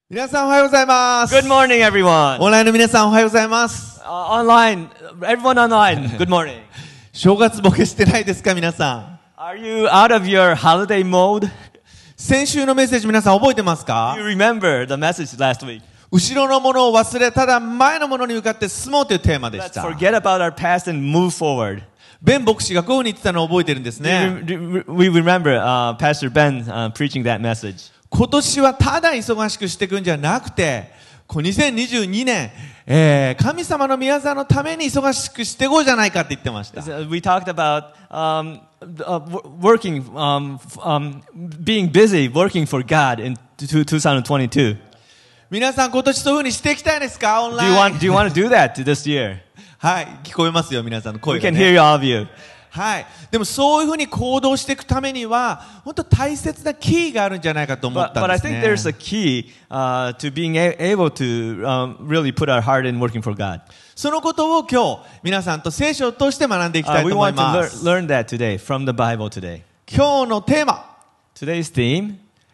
皆さんおはようございます。 Good morning, everyone. オンラインの皆さんおはようございます。 Online, everyone online. Good morning. 正月ボケしてないですか皆さん。 Are you out of your holiday mode? 先週のメッセージ皆さん覚えてますか？ You remember the message last week. 後ろのものを忘れただ前のものに向かって進もうというテーマでし Let's た。 forget about our past and move forward. ベン牧師がこういうふうに言ってたのを覚えてるんですね。 We remember Pastor Ben preaching that message. 今年はただ忙しくしていくんじゃなくて、2022年、神様の宮沢のために忙しくしていこうじゃないかって言ってました。 We talked about working, being busy, working for God in 2022. 皆さん今年そういうふうにしていきたいですか？オン Do ラ you イン。 want to do that this year? はい、聞こえますよ皆さんの声 We が、 can ね。 hear all of you. はい。でもそういうふうに行動していくためには、本当大切なキーがあるんじゃないかと思った But ん I です think ね。 there's a key to being able to really put our heart in working for God. そのことを今日、皆さんと聖書を通して学んでいきたい We と思い want ま to す。 learn that today from the Bible today. 今日のテーマ、 Today's theme,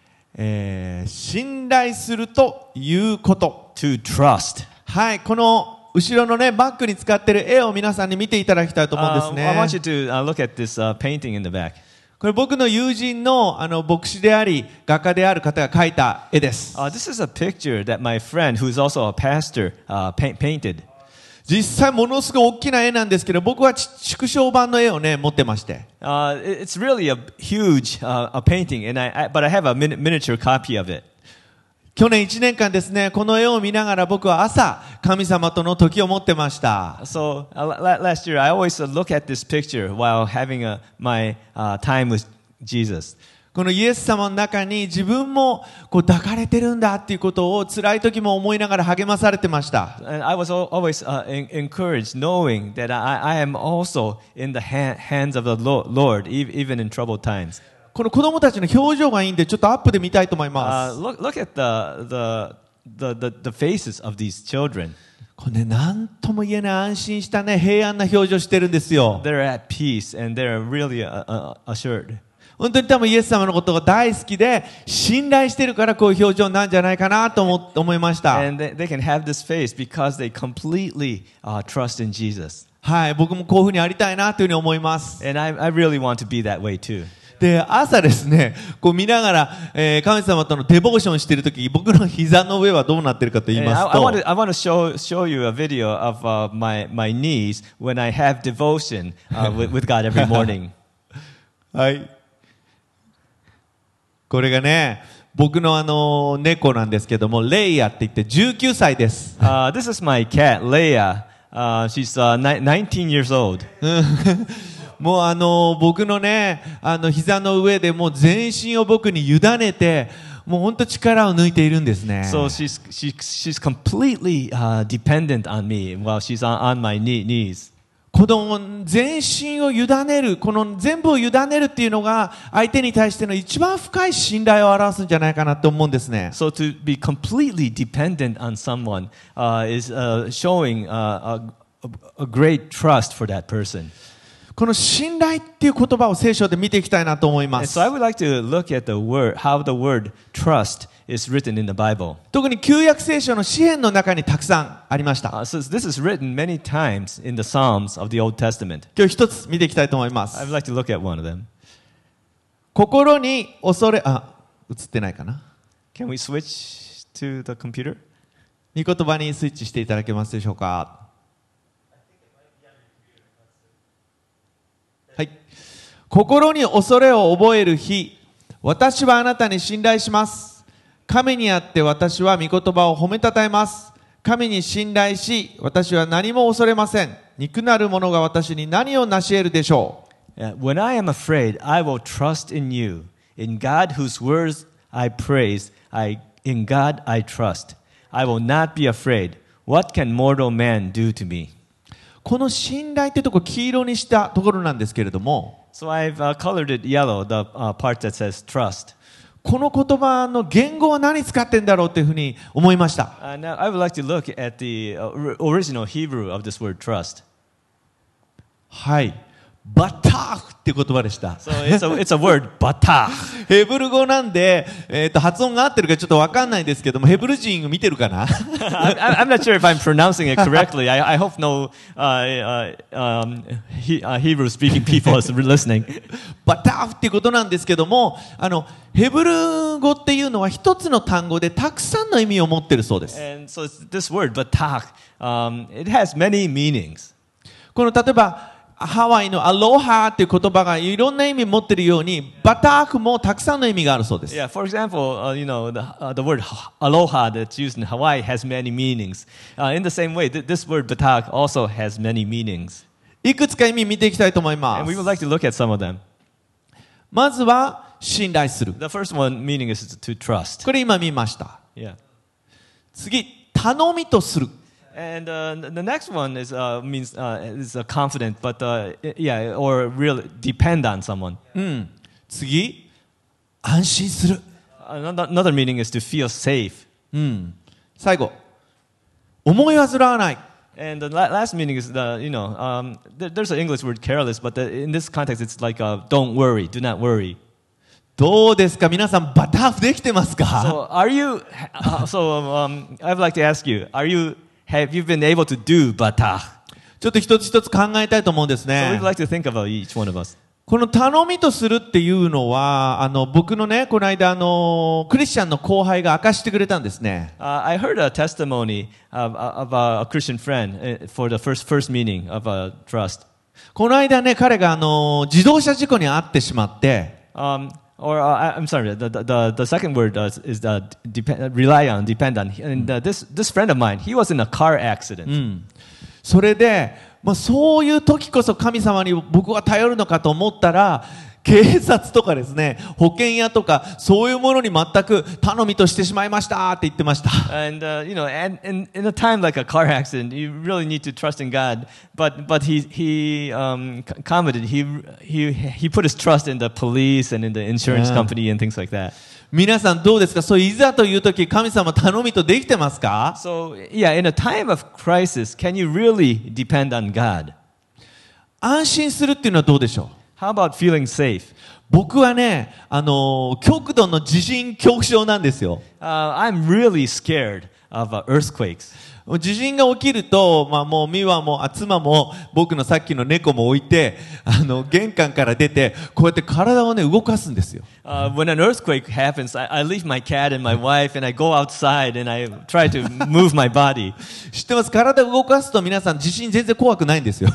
信頼するということ。 to trust. はい。この後ろのね、バックに使っている絵を皆さんに見ていただきたいと思うんです I want ね。 you to look at this painting in the back. これ僕の友人の牧師であり、画家である方が描いた絵です。 This is a picture that my friend, who's also a pastor, painted. 実際ものすごい大きな絵なんですけど、僕は縮小版の絵をね、持ってまして。 It's really a huge a painting, but I have a miniature copy of it. 去年1年間ですね、この絵を見ながら僕は朝、神様との時を持ってました。 So last year, I always look at this picture while having my time with Jesus. このイエス様の中に自分もこう抱かれてるんだっていうことを辛い時も思いながら励まされてました。 And I was always encouraged, knowing that I am also in the hands of the Lord, even in troubled times. この子供たちの表情がいいんで、ちょっとアップで見たいと思います。 Look at the faces of these children. これね、なんとも言えない安心したね、平安な表情してるんですよ。 They're at peace and they're really assured. 本当に多分イエス様のことが大好きで、信頼してるからこういう表情なんじゃないかなと思いました。 And they can have this face because they completely trust in Jesus. はい、僕もこういうふうにありたいなというふうに思います。 And I really want to be that way too. で、朝ですね、こう見ながら、神様とのデボーションしているとき、僕の膝の上はどうなってるかと言い And ますと、 I want to show you a video of my knees when I have devotion with God every morning. はい。これがね、僕の猫なんですけども、レイヤって言って19歳です。 This is my cat, Leia. She's 19 years old. もう僕のね、膝の上でもう全身を僕に委ねて、もう本当力を抜いているんですね。 So she's completely dependent on me while she's on my knees. この全身を委ねる、この全部を委ねるっていうのが相手に対しての一番深い信頼を表すんじゃないかなと思うんですね。 So to be completely dependent on someone is showing a great trust for that person. この信頼っていう言葉を聖書で見ていきたいなと思いま And す。 so I would like to look at the word, how the word trust is written in the Bible. 特に旧約聖書の詩篇の中にたくさんありました。 So this is written many times in the Psalms of the Old Testament. 今日一つ見ていきたいと思いま I す。 would like to look at one of them. 心に恐れ、映ってないかな。 Can we switch to the computer? 御言葉にスイッチしていただけますでしょうか。はい。心に恐れを覚える日、私はあなたに信頼します。神にあって私は御言葉を褒めたたえます。神に信頼し、私は何も恐れません。肉なる者が私に何を成し得るでしょう。 When I am afraid, I will trust in you. In God whose words I praise, in God I trust. I will not be afraid. What can mortal man do to me? この信頼ってとこ黄色にしたところなんですけれども、 So I've colored it yellow, the part that says trust. この言葉の言語は何使ってんだろうっていうふうに思いました。 Now I would like to look at the original Hebrew of this word trust. はい。 バターフって言葉でした。 So it's a word, batach. ヘブル語なんで、発音が合ってるかちょっとわかんないですけども、ヘブル人見てるかな I'm not sure if I'm pronouncing it correctly. I hope no Hebrew-speaking people is listening. バターフっていうことなんですけども、ヘブル語っていうのは一つの単語でたくさんの意味を持ってるそうです。 And so this word, batach, it has many meanings. この例えば、ハワイのアロハっていう言葉がいろんな意味を持っているように、バターフもたくさんの意味があるそうです。 Yeah, for example, the word aloha that's used in Hawaii has many meanings. In the same way, this word batach also has many meanings. いくつか意味見ていきたいと思いま And we す。 would like to look at some of them. まずは、信頼する。 The first one meaning is to trust. これ今見ました。 Yeah. 次、頼みとする。 And the next one is means is confident, but yeah, or real depend on someone. 次、安心する。 Another meaning is to feel safe. 最後、思い煩わない。 And the last meaning is there's an English word careless, but in this context it's like don't worry, do not worry. どうですか皆さん、バターフできてますか So are you? I'd like to ask you, have you been able to do batach? ちょっと一つ一つ考えたいと思うんです So ね we'd。like to think about each one of us. この頼みとするっていうのは、僕のね、この間、クリスチャンの後輩が明かしてくれたんですね。 I heard a testimony of a Christian friend for the first meaning of trust. この間ね、彼が自動車事故に遭ってしまって、 I'm sorry. The second word is rely on, depend on. And this friend of mine, he was in a car accident. それで、そういう時こそ神様に僕は頼るのかと思ったら、警察とかですね、保険屋とか、そういうものに全く頼みとしてしまいましたって言ってました。 And in a time like a car accident, you really need to trust in God. But he commented he put his trust in the police and in the insurance company and things like that. 皆さんどうですか？そういざという時、神様頼みとできてますか？ So yeah, in a time of crisis, can you really depend on God? 安心するっていうのはどうでしょう？ How about feeling safe? 僕はね、極度の地震恐怖症なんですよ。 I'm really scared of earthquakes. 地震が起きると、もう美和も妻も僕のさっきの猫も置いて、玄関から出て、こうやって体をね、動かすんですよ。 When an earthquake happens, I leave my cat and my wife and I go outside and I try to move my body. 知ってます？体を動かすと皆さん地震全然怖くないんですよ。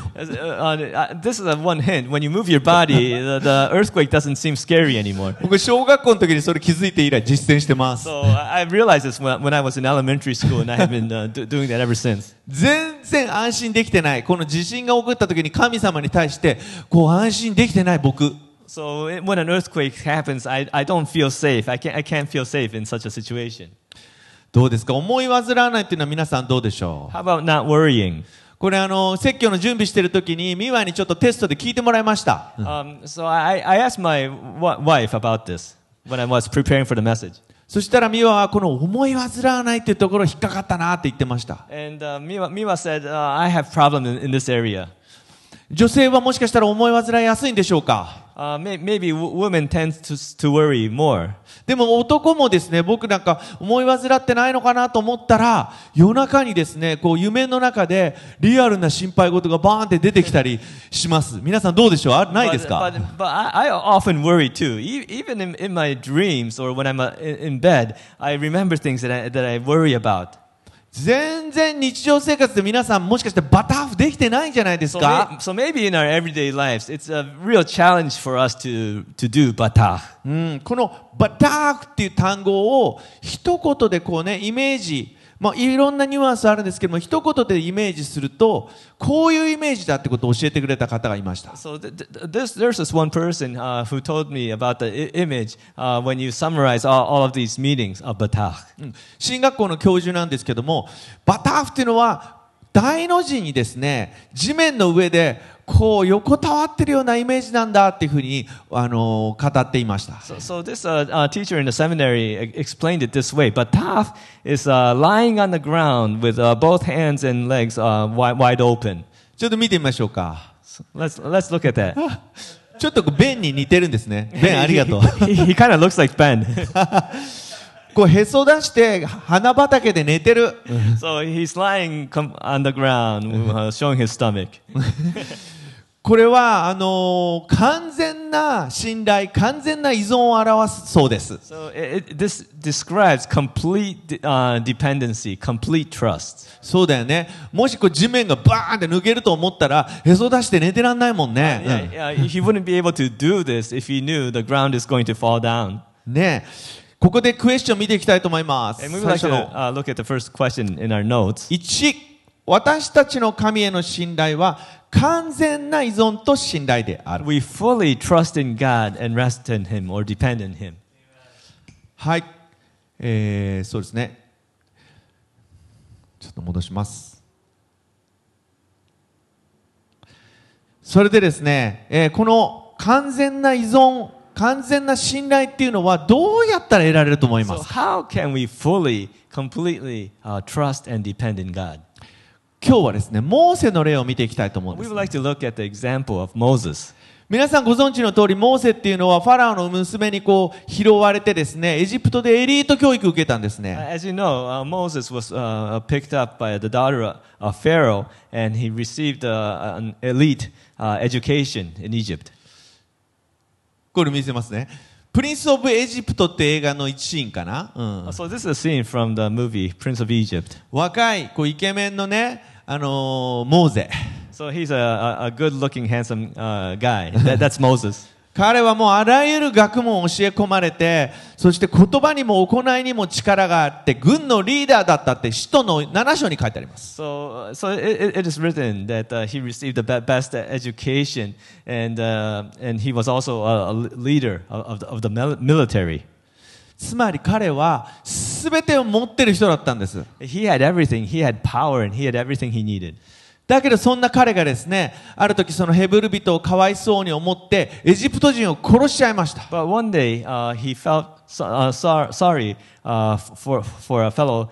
This is one hint. When you move your body, the earthquake doesn't seem scary anymore. 僕、小学校の時にそれ気づいて以来実践してます。 So I realized this when I was in elementary school and I have been doing that ever since. 全然安心できてない。この地震が起こった時に神様に対して、こう安心できてない僕。 So when an earthquake happens, I don't feel safe. I can't feel safe in such a situation. どうですか？思い煩わないっていうのは皆さんどうでしょう？ How about not worrying? これ説教の準備している時にミワにちょっとテストで聞いてもらいました。 So I asked my wife about this when I was preparing for the message. そしたらミワはこの思い煩わないっていうところ引っかかったなって言ってました。 And Miwa said, I have problem in this area. 女性はもしかしたら思い煩いやすいんでしょうか？ Maybe women tend to worry more. でも男もですね、僕なんか思い煩ってないのかなと思ったら、夜中にですね、こう夢の中でリアルな心配事がバーンって出てきたりします。皆さんどうでしょう？ないですか？ But I often worry too. Even in my dreams or when I'm in bed, I remember things that I worry about. 全然日常生活で皆さんもしかしてバターフできてないんじゃないですか？ So maybe in our everyday lives, it's a real challenge for us to do batach. このバターフっていう単語を一言でこうね、イメージ、いろんなニュアンスあるんですけども、一言でイメージすると、こういうイメージだってことを教えてくれた方がいました。 So there's this one person who told me about the image when you summarize all of these meanings of batach. 進学校の教授なんですけども、バターフっていうのは大の字にですね、地面の上でこう横たわってるようなイメージなんだっていうふうに語っていました。 So this teacher in the seminary explained it this way. Batach is lying on the ground with both hands and legs wide open. ちょっと見てみましょうか。 Let's look at that. ちょっとベンに似てるんですね。ベンありがとう。 he kind of looks like Ben. こうへそ出して花畑で寝てる。 So he's lying on the ground, showing his stomach. これは完全な信頼、完全な依存を表すそうです。 So this describes complete dependency, complete trust. そうだよね。もしこう地面がバーンって抜けると思ったらへそ出して寝てらんないもんね。 He wouldn't be able to do this if he knew the ground is going to fall down. ね、ここでクエスチョン見ていきたいと思います。 And we would like to look at the first question in our notes. 1、私たちの神への信頼は完全な依存と信頼である。 We fully trust in God and rest in Him or depend on Him. はい、そうですね。ちょっと戻します。それでですね、この完全な依存、完全な信頼っていうのはどうやったら得られると思いま So すか？ how can we fully, completely trust and depend in God? 今日はですね、モーセの例を見ていきたいと思うんで We す would。like to look at the example of Moses. 皆さんご存知の通り、モーセっていうのはファラオの娘にこう拾われてですね、エジプトでエリート教育を受けたんですね。 As you know, Moses was picked up by the daughter of Pharaoh, and he received an elite education in Egypt. これ見せますね。プリンス・オブ・エジプトって映画の一シーンかな、 So this is a scene from the movie Prince of Egypt. 若いこうイケメンのね、モーゼ。 So he's a good-looking, handsome guy. That's Moses. 彼はもうあらゆる学問を教え込まれて、そして言葉にも行いにも力があって、軍のリーダーだったって使徒の7章に書いてあります。 So it is written that he received the best education, and he was also a leader of the military. つまり彼は全てを持ってる人だったんです。 He had everything. He had power, and he had everything he needed. だけどそんな彼がですね、ある時そのヘブル人をかわいそうに思ってエジプト人を殺しちゃいました。 But one day he felt sorry for a fellow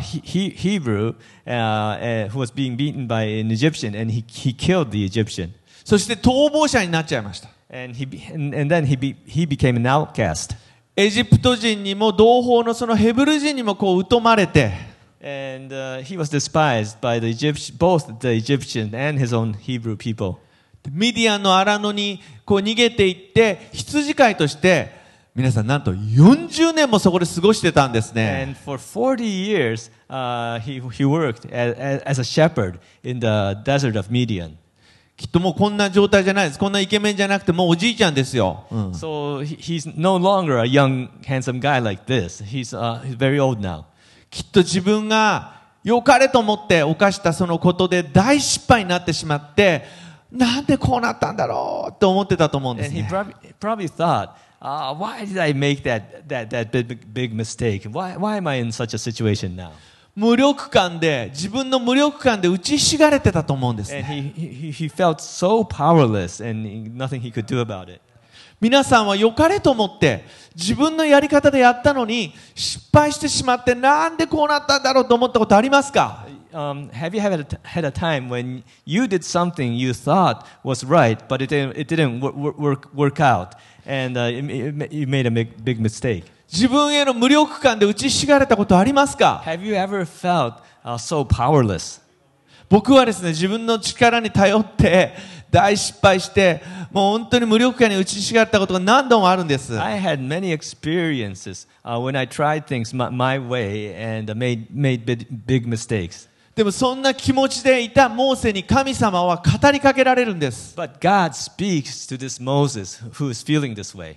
Hebrew who was being beaten by an Egyptian, and he killed the Egyptian. そして逃亡者になっちゃいました。 And then he became an outcast. エジプト人にも同胞のそのヘブル人にもこう疎まれて、 And he was despised by both the Egyptian and his own Hebrew people. ミディアンの荒野にこう逃げていって羊飼いとして皆さんなんと40年もそこで過ごしてたんですね。 And for 40 years he worked as a shepherd in the desert of Midian. きっともうこんな状態じゃないです。こんなイケメンじゃなくてもうおじいちゃんですよ。 So he's no longer a young, handsome guy like this. He's very old now. きっと自分が良かれと思って犯したそのことで大失敗になってしまって、なんでこうなったんだろうと思ってたと思うんです And he ね。 probably thought, why did I make that big mistake? Why am I in such a situation now? 無力感で、自分の無力感で打ちひしがれてたと思うんですね。 And he felt so powerless and nothing he could do about it. 皆さんは良かれと思って自分のやり方でやったのに失敗してしまってなんでこうなったんだろうと思ったことありますか？ Have you had a time when you did something you thought was right, but it didn't work out, and you made a big mistake? 自分への無力感で打ちひしがれたことありますか？ Have you ever felt so powerless? 僕はですね、自分の力に頼って大失敗してもう本当に無力感に打ちひしがれたことが何度もあるんです。 I had many experiences when I tried things my way and made big mistakes. でもそんな気持ちでいたモーセに神様は語りかけられるんです。 But God speaks to this Moses who is feeling this way.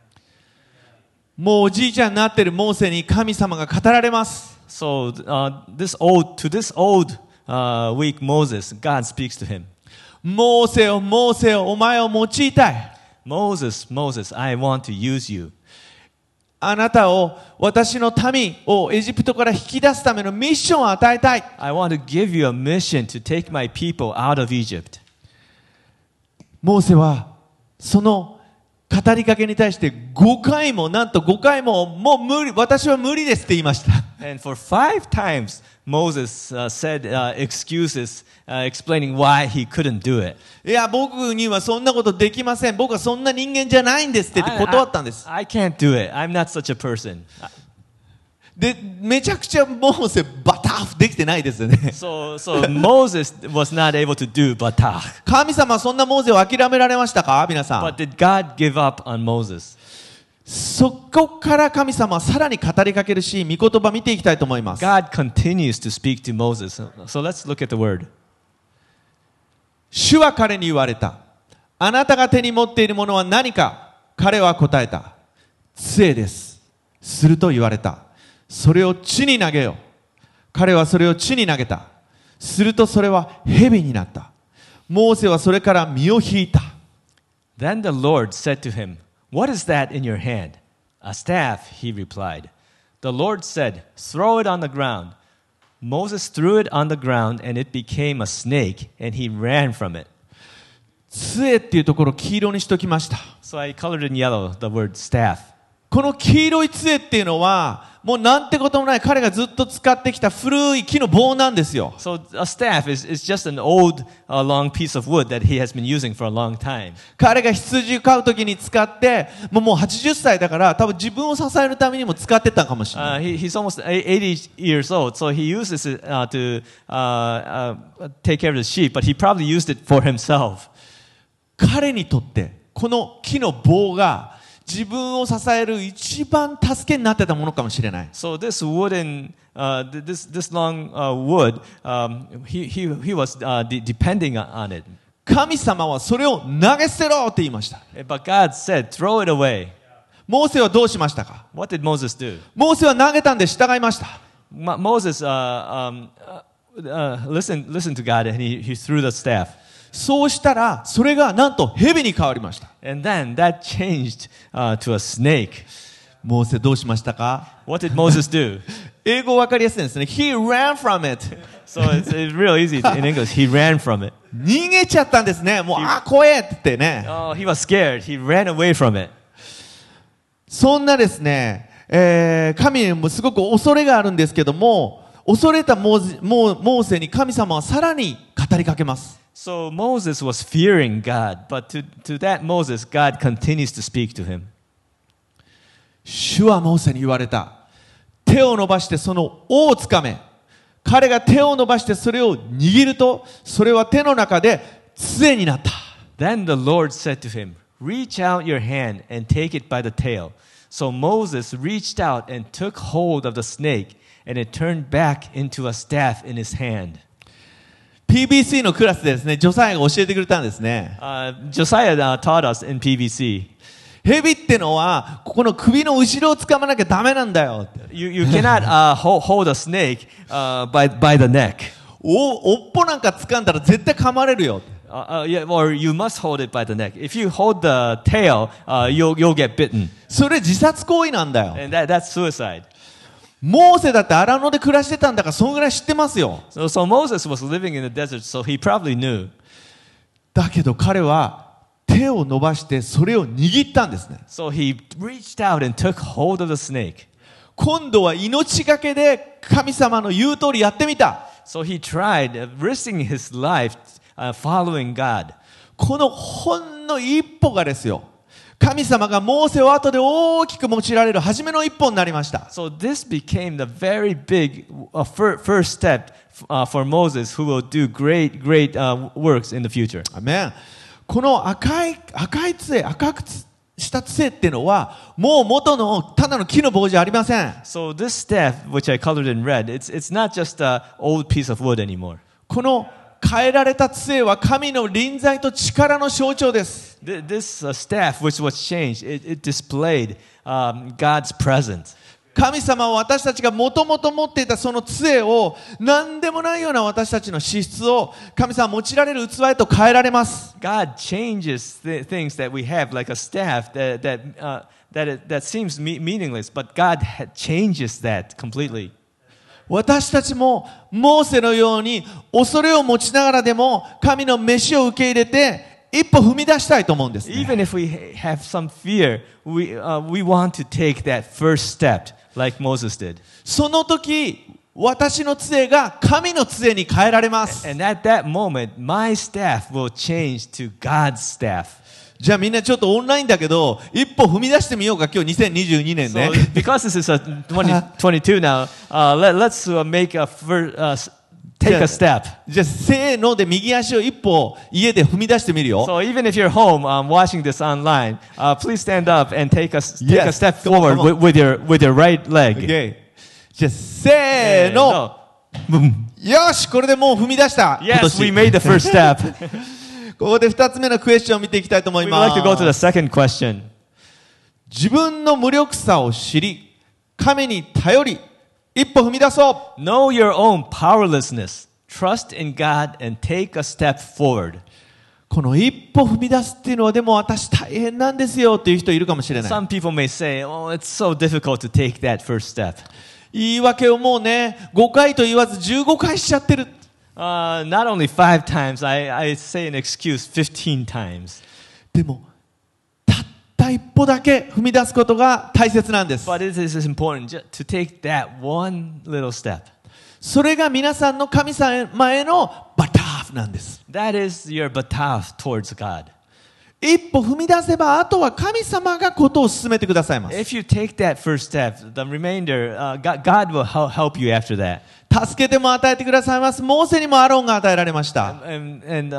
もうおじいちゃんになっているモーセに神様が語られます。 So this old weak Moses, God speaks to him. モーセよ、モーセよ、お前を用いたい。 Moses, I want to use you. あなたを私の民をエジプトから引き出すためのミッションを与えたい。 I want to give you a mission to take my people out of Egypt. モーセはその語りかけに対して5回も、なんと5回も、もう無理、私は無理ですって言いました。 And for 5 times, Moses said excuses, explaining why he couldn't do it. いや、僕にはそんなことできません。僕はそんな人間じゃないんですって言って断ったんです。 I can't do it. I'm not such a person. で、めちゃくちゃモーセバタフできてないですよね。 So Moses was not able to do batach. 神様はそんなモーセを諦められましたか皆さん。 But did God give up on Moses? そこから神様はさらに語りかけるし、御言葉見ていきたいと思います。 God continues to speak to Moses. So let's look at the word. 主は彼に言われた。あなたが手に持っているものは何か。彼は答えた。杖です。すると言われた。それを地に投げよ。彼はそれを地に投げた。するとそれは蛇になった。モーセはそれから身を引いた。 Then the Lord said to him, What is that in your hand? A staff, he replied. The Lord said, Throw it on the ground. Moses threw it on the ground, and it became a snake, and he ran from it. 杖っていうところを黄色にしときました。 So I colored in yellow the word staff. この黄色い杖っていうのは、もうなんてこともない彼がずっと使ってきた古い木の棒なんですよ。 So a staff is just an old, long piece of wood that he has been using for a long time. 彼が羊を飼うときに使って、もう80歳だから多分自分を支えるためにも使ってたかもしれない。 He's almost 80 years old, so he uses it to take care of the sheep, but he probably used it for himself. 彼にとってこの木の棒が自分を支える一番助けになってたものかもしれない。 So this wooden, this long wood, he was depending on it. 神様はそれを投げ捨てろって言いました。 But God said, throw it away. モーセはどうしましたか。 What did Moses do? モーセは投げたんで従いました。 Moses listened to God and he threw the staff. そうしたらそれがなんと蛇に変わりました。 And then that changed to a snake. モーセどうしましたか。 What did Moses do? 英語わかりやすいですね。He ran from it. So it's real easy in English. He ran from it. 逃げちゃったんですね。もう怖えって言ってね。 Oh, he was scared. He ran away from it. そんなですね、神にもすごく恐れがあるんですけども、恐れたモーセに神様はさらに語りかけます。 So Moses was fearing God, but to that Moses, God continues to speak to him. 主はモーセに言われた。手を伸ばしてその尾をつかめ。彼が手を伸ばしてそれを握ると、それは手の中で杖になった。 Then the Lord said to him, Reach out your hand and take it by the tail. So Moses reached out and took hold of the snake, and it turned back into a staff in his hand. PBC のクラスでですね、ジョサイアが教えてくれたんですね。 Josiah taught us in PBC. 蛇ってのはここの首の後ろを掴まなきゃダメなんだよ。 You cannot hold a snake by the neck. おっぽなんか掴んだら絶対噛まれるよ。 Yeah, or you must hold it by the neck. If you hold the tail, you'll get bitten. それ自殺行為なんだよ。 And that's suicide. モーセだって荒野で暮らしてたんだからそんぐらい知ってますよ。 So Moses was living in the desert, so he probably knew. だけど彼は手を伸ばしてそれを握ったんですね。 So he reached out and took hold of the snake. 今度は命がけで神様の言う通りやってみた。 So he tried risking his life following God. このほんの一歩がですよ。神様がモーセを後で大きく用いられる初めの一歩になりました。 So this became the very big first step for Moses, who will do great works in the future. アメン。この赤い杖、赤くした杖っていうのはもう元のただの木の棒じゃありません。 So this staff, which I colored in red, it's not just an old piece of wood anymore. この変えられた杖は神の臨在と力の象徴です。 This staff, which was changed, it displayed God's presence. 神様は私たちがもともと持っていたその杖を何でもないような私たちの資質を神様は用いられる器へと変えられます。 God changes the things that we have, like a staff that seems meaningless, but God changes that completely. 私たちもモーセのように恐れを持ちながらでも神の召しを受け入れて一歩踏み出したいと思うんですね。 Even if we have some fear, we want to take that first step like Moses did. その時、私の杖が神の杖に変えられます。 And at that moment, my staff will change to God's staff. じゃあみんなちょっとオンラインだけど、一歩踏み出してみようか、今日2022年 So ね。 because this is a 2022 now, let's make a take a step. じゃあせーので右足を一歩家で踏み出してみるよ。 So even if you're home watching this online, please stand up and take a Yes. step Come on, forward come on. with your right leg. OK。じゃあせーの。よし、これでもう踏み出した。今 Yes, we 年 made the first step. ここで2つ目のクエスチョンを見ていきたいと思い We'd ま like to go to the す。 second question. 自分の無力さを知り、神に頼り、一歩踏み出そう。 Know your own powerlessness. Trust in God and take a step forward. この一歩踏み出すっていうのはでも私大変なんですよっていう人いるかもしれない。 Some people may say, oh, it's so difficult to take that first step. 言い訳をもうね、5回と言わず15回しちゃってる。 Not only 5 times, I say an excuse 15 times. でも、たった一歩だけ踏み出すことが大切なんです。 But it is important to take that one little step. それが皆さんの神様へのバターなんです。 That is your bataf towards God. 一歩踏み出せば、あとは神様がことを進めてくださいます。 If you take that first step, the remainder, God will help you after that. 助けても与えてくださいます。モーセにもアロンが与えられました。 And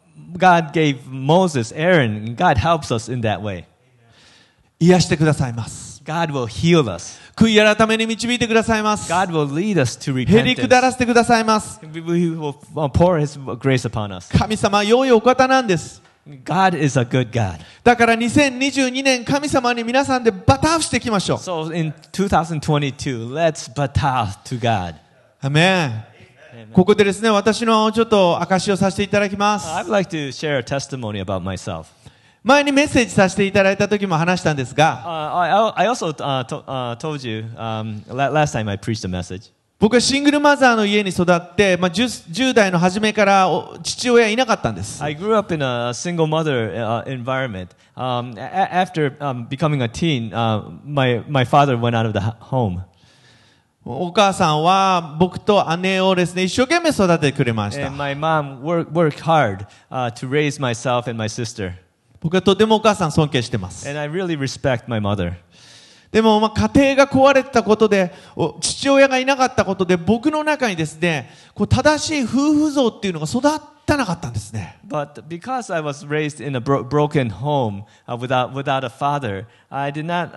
God gave Moses, Aaron, and God helps us in that way. 癒してくださいます。 God will heal us. 悔い改めに導いてくださいます。 God will lead us to へりくだ repentance. らせてくださいます。 We will pour His grace upon us. 神様は良いお方なんです。 God is a good God. だから2022年神様に皆さんでバターしていきましょう。 So in 2022, let's bataf to God. アメン。ここでですね、私のちょっと証しをさせていただきます。 I'd like to share a testimony about myself. 前にメッセージさせていただいた時も話したんですが、 I also told you last time I preached a message. 僕はシングルマザーの家に育って、10代の初めから父親いなかったんです。 I grew up in a single mother environment. After becoming a teen, my father went out of the home. お母さんは僕と姉をですね、一生懸命育ててくれました。 And my mom worked hard to raise myself and my sister. 僕はとてもお母さん尊敬してます。 And I really respect my mother. でも家庭が壊れてたことで、父親がいなかったことで、僕の中にですね、正しい夫婦像っていうのが育たなかったんですね。 But because I was raised in a broken home without a father, I did not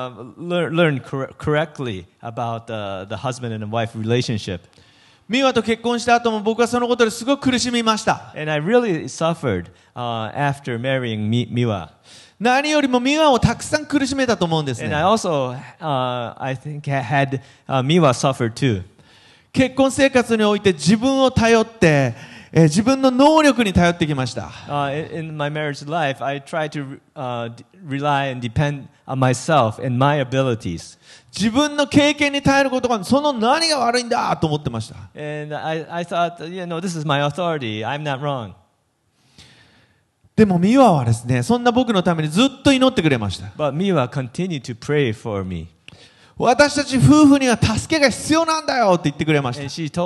learn correctly about the husband and wife relationship. ミワと結婚した後も僕はそのことですごく苦しみました。 And I really suffered after marrying Miwa. 何よりもミワをたくさん苦しめたと思うんですね。 And I also, I think, had Miwa suffer too. 結婚生活において自分を頼って、自分の能力に頼ってきました。 In my marriage life, I tried to rely and depend on myself and my abilities. 自分の経験に頼ることがその何が悪いんだと思ってました。 And I thought, this is my authority. I'm not wrong. でもミワはですね、そんな僕のためにずっと祈ってくれました。 But Miwa continued to pray for me. 私たち夫婦には助けが必要なんだよって言ってくれまし And た。 she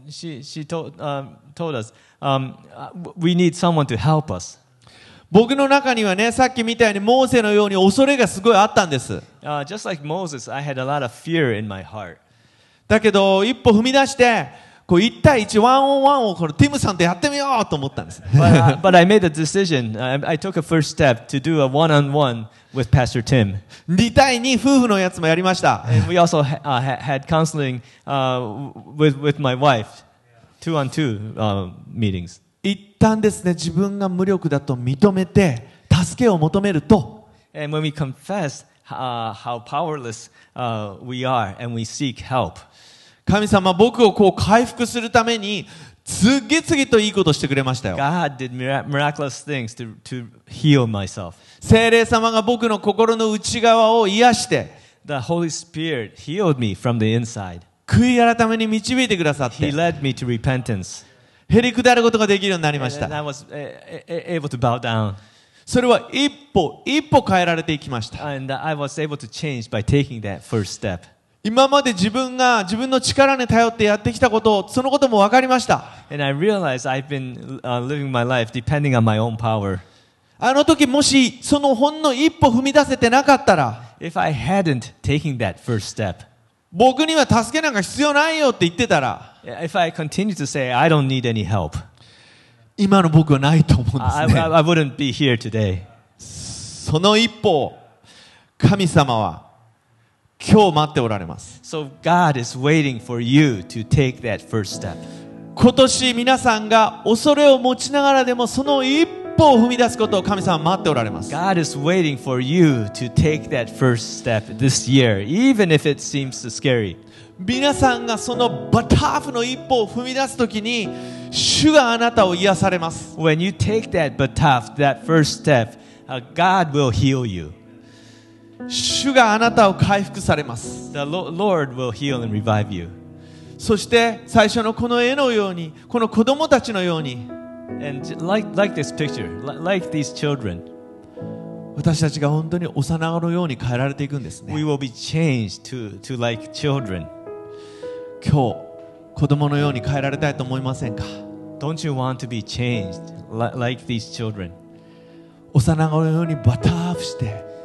told us, we need someone to help us. 僕の中にはね、さっきみたいにモーセのように恐れがすごいあったんです。 Just like Moses, I had a lot of fear in my heart. だけど一歩踏み出して1対1ワンオンワンをティムさんとやってみようと思ったんです。 But I made a decision. I took a first step to do a one-on-one with Pastor Tim. 2対2夫婦のやつもやりました。 And we also had counseling with my wife, 2-on-2 meetings. 一旦ですね、自分が無力だと認めて助けを求めると、 And when we confess how powerless we are and we seek help, 神様は僕を回復するために次々といいことしてくれましたよ。 God did miraculous things to heal myself. 聖霊様が僕の心の内側を癒して、 The Holy Spirit healed me from the inside. 悔い改めに導いてくださっ He て、 led me to repentance. へりくだることができるようになりま And し I た。 was able to bow down. それは一歩一歩変えられていきました。 And I was able to change by taking that first step. 今まで自分が自分の力に頼ってやってきたことを、そのことも分かりました。 And I realized I've been living my life depending on my own power. あの時もしそのほんの一歩踏み出せてなかったら、 If I hadn't taken that first step, 僕には助けなんか必要ないよって言ってたら、 if I continued to say I don't need any help, 今の僕はないと思うんです I ね。 wouldn't be here today. その一歩を神様は今日待っておられます。 So God is waiting for you to take that first step. 今年皆さんが恐れを持ちながらでもその一歩を踏み出すことを神様は待っておられます。 God is waiting for you to take that first step this year, even if it seems scary. 皆さんがそのバターフの一歩を踏み出すときに主があなたを癒されます。 When you take that bataf, that first step, God will heal you. 主があなたを回復されます。 The Lord will heal and revive you. そして最初のこの絵のように、この子供たちのように、 And like this picture, like these children, 私たちが本当に幼子のように変えられていくんです we ね。 will be changed to like children. 今日子供のように変えられたいと思いませんか？ Don't you want to be changed like these children? 幼子のようにバターフして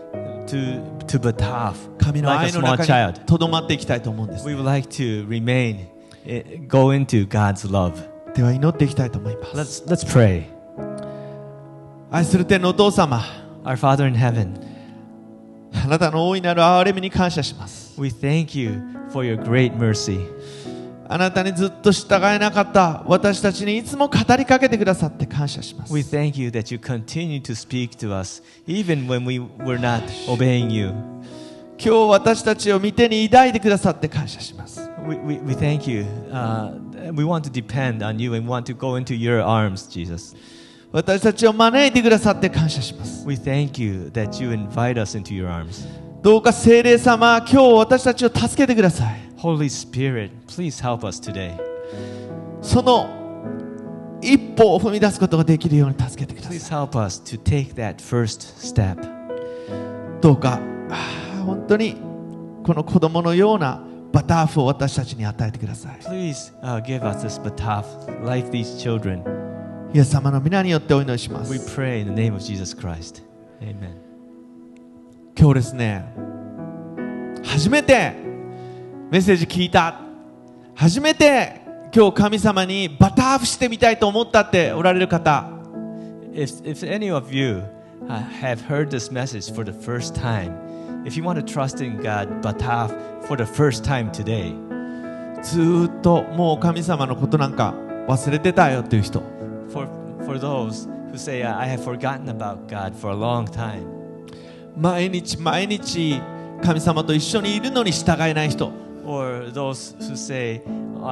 To bataf, 神の like a 愛の small 中に child. とどまっていきたいと思うんです。 We would like to remain, go into God's love. では祈っていきたいと思います。 Let's pray. 愛する天のお父様、 Our Father in heaven, あなたの大いなる憐れみに感謝します。 we thank you for your great mercy. あなたにずっと従えなかった私たちにいつも語りかけてくださって感謝します。 We thank you that you continue to speak to us even when we were not obeying you. 今日私たちを見てに抱いてくださって感謝します。 We thank you. We want to depend on you and want to go into your arms, Jesus. 私たちを招いてくださって感謝します。 We thank you that you invite us into your arms. どうか聖霊様、今日私たちを助けてください。 Holy Spirit, please help us today. その一歩を踏み出すことができるように助けてくだ Please さい。 help us to take that first step. どうか本当にこの子供のようなバターフを私たちに与えてください。 Please give us this bataf, like these children. イエス様の皆によってお祈りしま We す。 pray in the name of Jesus Christ. Amen. 今日ですね、初めてメッセージ聞いた、初めて今日神様にバターフしてみたいと思ったっておられる方、 If any of you have heard this message for the first time, if you want to trust in God, bataf for the first time today, ずーっともう神様のことなんか忘れてたよっていう人、 for those who say, I have forgotten about God for a long time, 毎日毎日神様と一緒にいるのに従えない人、 or those who say,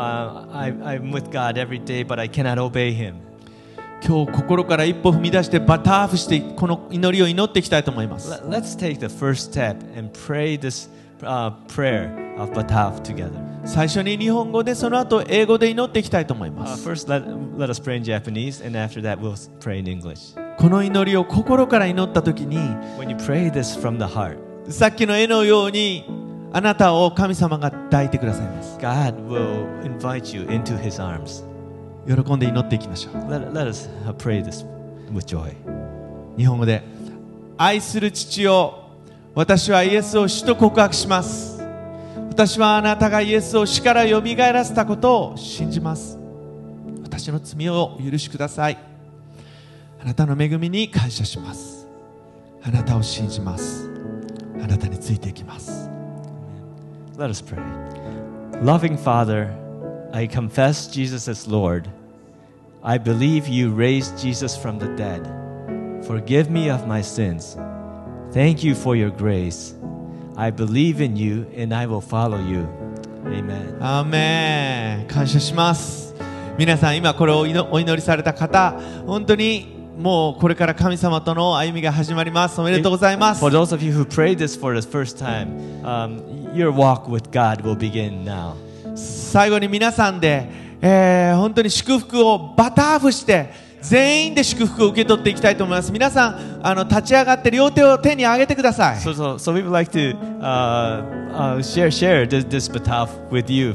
I'm with God every day, but I cannot obey Him. 今日心から一歩踏み出してバターフしてこの祈りを祈っていきたいと思います。 Let's take the first step and pray this prayer of bataf together. 最初に日本語でその後英語で祈っていきたいと思います。 First, let us pray in Japanese, and after that, we'll pray in English. この祈りを心から祈った時に、 When you pray this from the heart, さっきの絵のようにあなたを神様が抱いてくださいます。 God will invite you into His arms. 喜んで祈っていきましょう。 Let us pray this with joy. 日本語で、愛する父よ、私はイエスを主と告白します。私はあなたがイエスを死からよみがえらせたことを信じます。私の罪をお許しください。あなたの恵みに感謝します。あなたを信じます。あなたについていきます。 Let us pray. Loving Father, I confess Jesus as Lord. I believe you raised Jesus from the dead. Forgive me of my sins. Thank you for your grace. I believe in you and I will follow you. Amen. アーメン。感謝します。皆さん今これをお祈りされた方、本当にもうこれから神様との歩みが始まります。おめでとうございます。 For those of you who prayed this for the first time, your walk with God will begin now. 最後に皆さんで本当に祝福をバターフして全員で祝福を受け取っていきたいと思います。皆さん立ち上がって両手を天に上げてください。 So we would like to share this bataf with you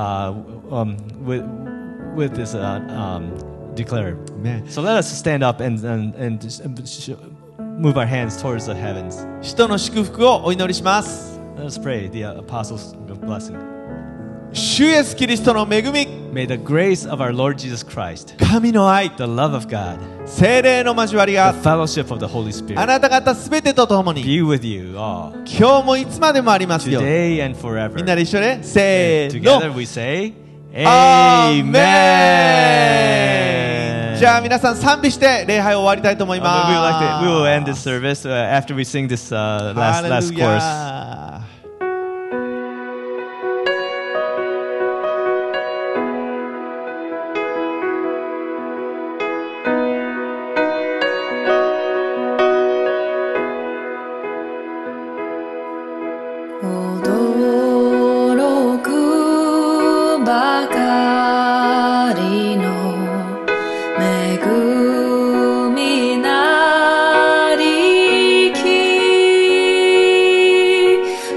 with this declare. So let us stand up and move our hands towards the heavens. 使徒の祝福をお祈りします。 Let us pray the apostles' blessing. 主イエスキリストの恵み、 May the grace of our Lord Jesus Christ, 神の愛、 the love of God, 聖霊の交わり the が fellowship of the Holy あ Spirit なた方すべてとともに be with you all, 今日もいつまでもありますように。 today and forever. みんなで一緒でせー Together の we say, アー Amen. メン。じゃあ皆さん賛美して礼拝を終わりたいと思います。 We will end this service after we sing this last chorus. ハレルヤ。 驚くばかりの恵みなりき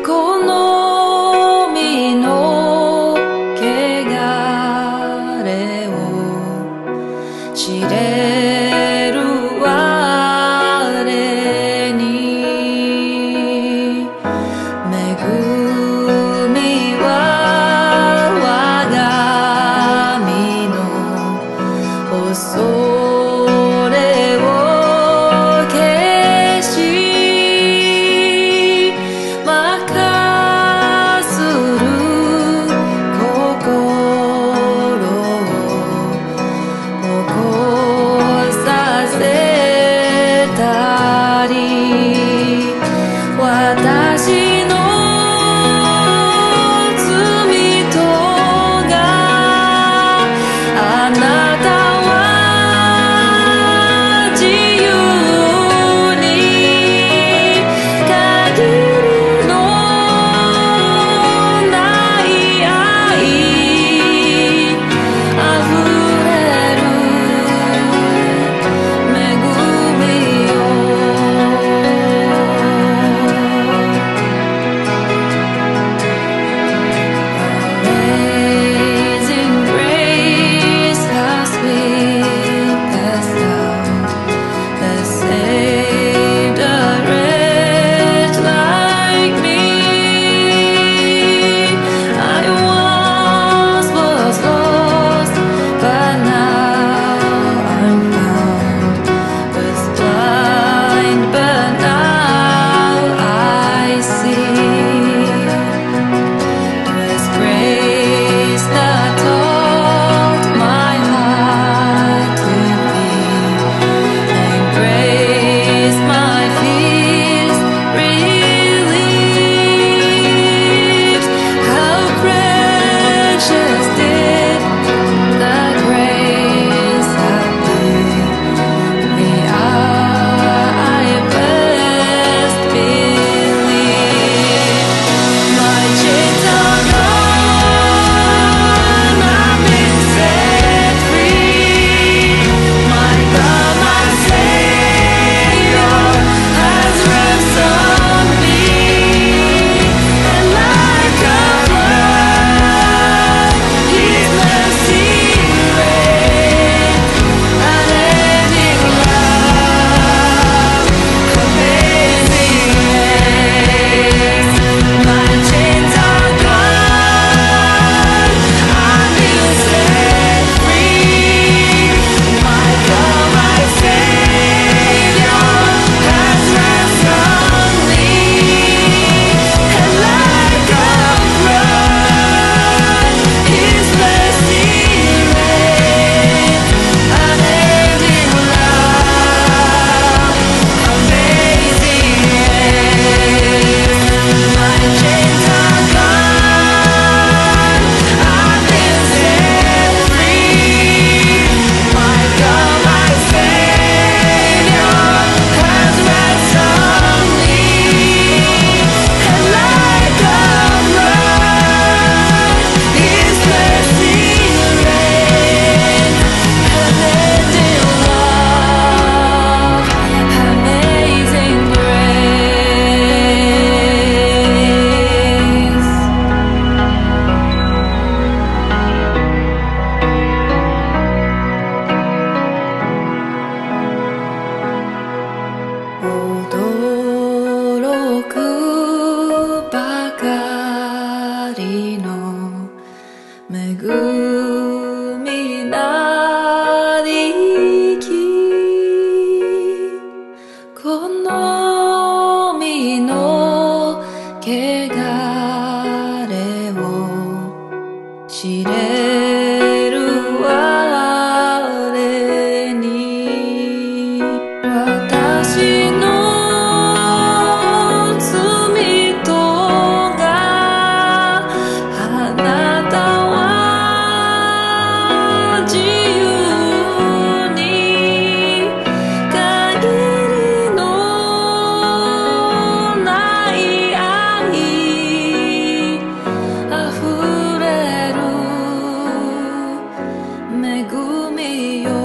恵みよ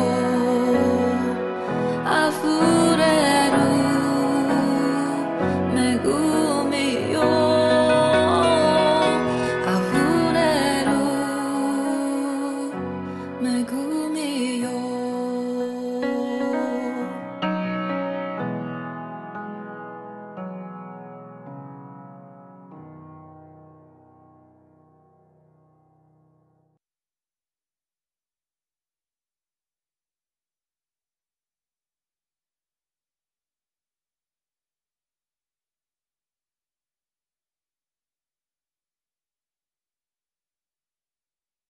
あふれる恵みよあふれる恵み